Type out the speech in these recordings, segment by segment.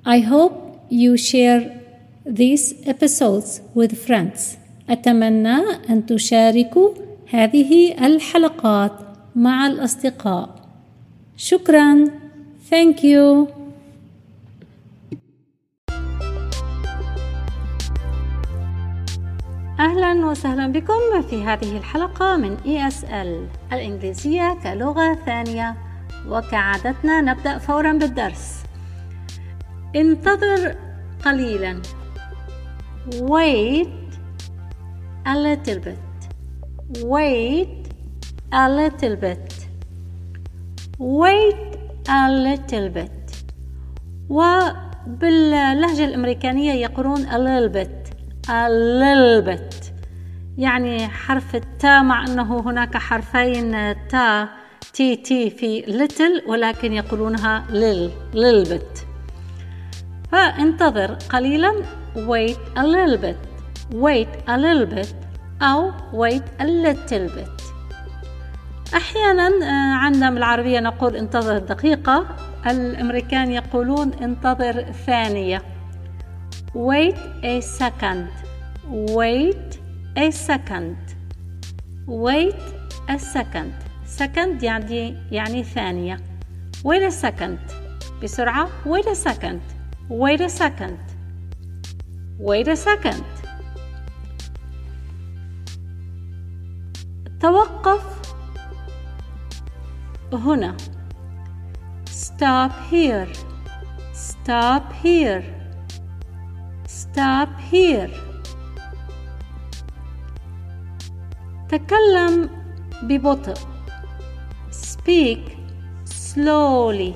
I hope you share these episodes with friends. أتمنى أن تشاركوا هذه الحلقات مع الأصدقاء. شكراً. Thank you. أهلاً وسهلاً بكم في هذه الحلقة من ESL الإنجليزية كلغة ثانية، وكعادتنا نبدأ فوراً بالدرس. انتظر قليلاً. Wait a little bit. Wait a little bit. Wait a little bit. وباللهجة الأمريكانية يقولون a little bit. A little bit يعني حرف التاء، مع أنه هناك حرفين تاء تي في little، ولكن يقولونها little bit. فانتظر قليلا. wait a little bit. wait a little bit أو wait a little bit. أحيانا عندنا بالعربية نقول انتظر دقيقة، الأمريكان يقولون انتظر ثانية. wait a second. wait a second. wait a second. second يعني ثانية. wait a second. بسرعة. wait a second. wait a second. wait a second. توقف هنا. stop here. stop here. stop here. تكلم ببطء. speak slowly.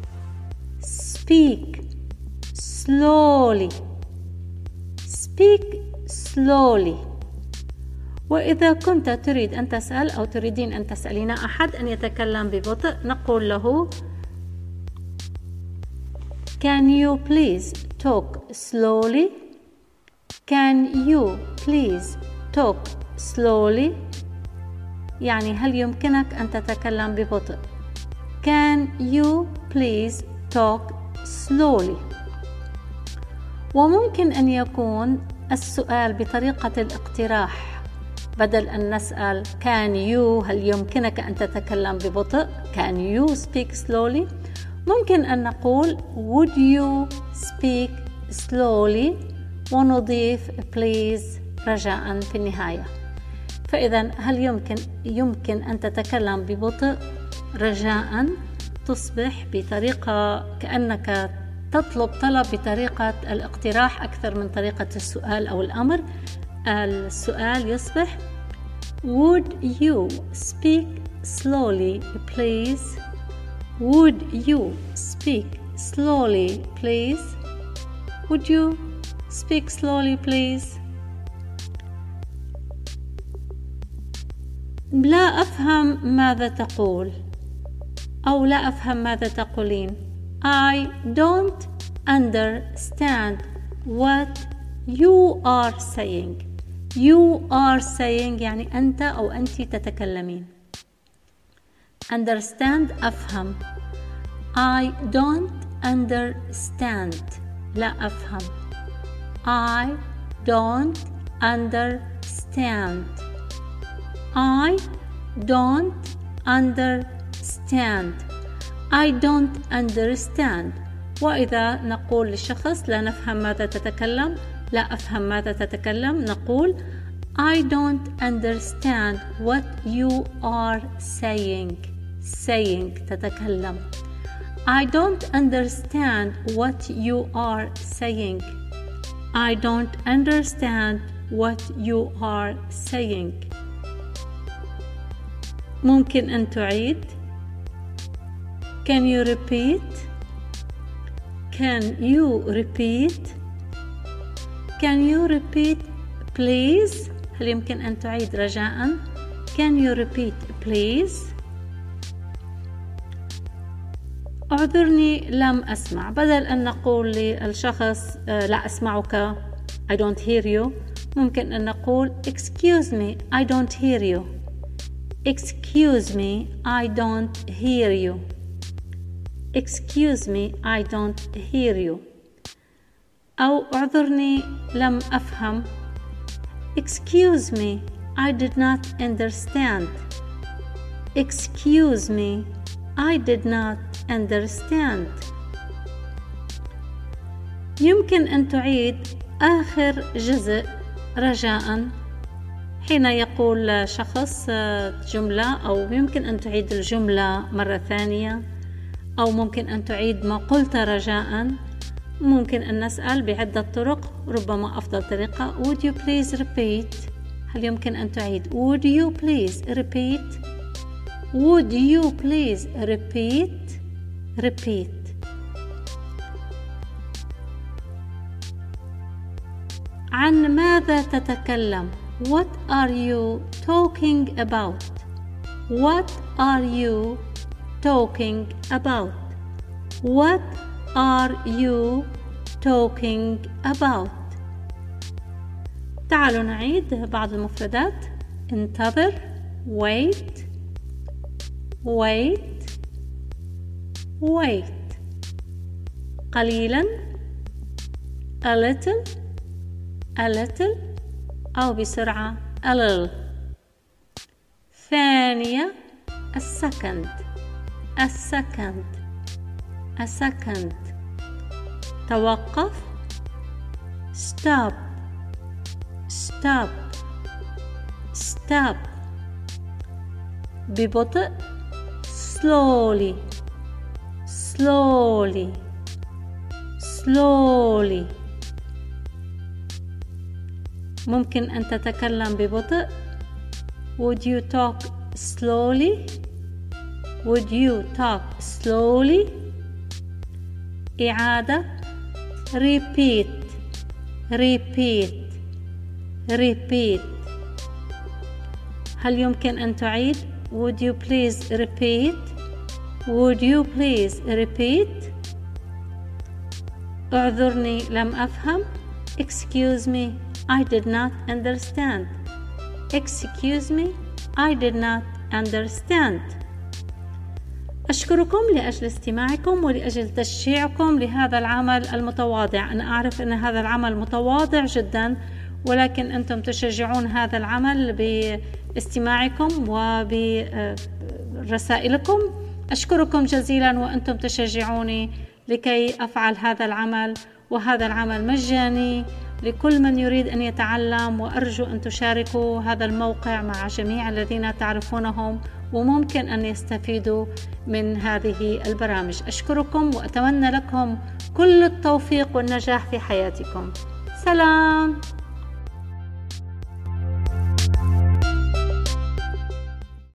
speak slowly. speak slowly. وإذا كنت تريد أن تسأل أو تريدين أن تسألين أحد أن يتكلم ببطء، نقول له Can you please talk slowly? Can you please talk slowly? يعني هل يمكنك أن تتكلم ببطء؟ Can you please talk slowly؟ وممكن أن يكون السؤال بطريقة الاقتراح، بدل أن نسأل Can you هل يمكنك أن تتكلم ببطء؟ Can you speak slowly؟ ممكن أن نقول Would you speak slowly؟ ونضيف please رجاء في النهاية. فإذا هل يمكن أن تتكلم ببطء؟ رجاء تصبح بطريقة كأنك تطلب طلب بطريقة الاقتراح أكثر من طريقة السؤال أو الأمر. السؤال يصبح Would you speak slowly please? Would you speak slowly please? Would you speak slowly please? لا أفهم ماذا تقول، أو لا أفهم ماذا تقولين. I don't understand what you are saying. You are saying يعني أنت أو أنت تتكلمين. Understand أفهم. I don't understand لا أفهم. I don't understand. I don't understand. I don't understand. وإذا نقول للشخص لا نفهم ماذا تتكلم، لا أفهم ماذا تتكلم، نقول I don't understand what you are saying. saying تتكلم. I don't understand what you are saying. I don't understand what you are saying. ممكن أن تعيد. Can you repeat? Can you repeat? Can you repeat please? هل يمكن أن تعيد رجاءً؟ Can you repeat please? أعذرني لم أسمع. بدل أن نقول للشخص لا أسمعك I don't hear you، ممكن أن نقول excuse me I don't hear you. Excuse me I don't hear you. Excuse me I don't hear you. أو اعذرني لم أفهم. Excuse me, I did not understand. Excuse me, I did not understand. يمكن أن تعيد آخر جزء رجاءً حين يقول شخص جملة، أو يمكن أن تعيد الجملة مرة ثانية، أو ممكن أن تعيد ما قلت رجاءً. ممكن أن نسأل بعدة طرق، ربما أفضل طريقة Would you please repeat؟ هل يمكن أن تعيد Would you please repeat؟ Would you please repeat؟ Repeat. عن ماذا تتكلم؟ What are you talking about؟ What are you talking about؟ What are you talking about؟ تعالوا نعيد بعض المفردات. انتظر wait wait wait. قليلا a little أو بسرعة a little. ثانية a second. توقف stop. ببطء slowly. ممكن أن تتكلم ببطء. Would you talk slowly؟ إعادة repeat. هل يمكن أن تعيد Would you please repeat؟ اعذرني لم أفهم. Excuse me, I did not understand. أشكركم لأجل استماعكم ولأجل تشجيعكم لهذا العمل المتواضع. أنا أعرف أن هذا العمل متواضع جدا، ولكن أنتم تشجعون هذا العمل باستماعكم وبرسائلكم. أشكركم جزيلا وأنتم تشجعوني لكي أفعل هذا العمل، وهذا العمل مجاني لكل من يريد أن يتعلم، وأرجو أن تشاركوا هذا الموقع مع جميع الذين تعرفونهم وممكن أن يستفيدوا من هذه البرامج. أشكركم وأتمنى لكم كل التوفيق والنجاح في حياتكم. سلام.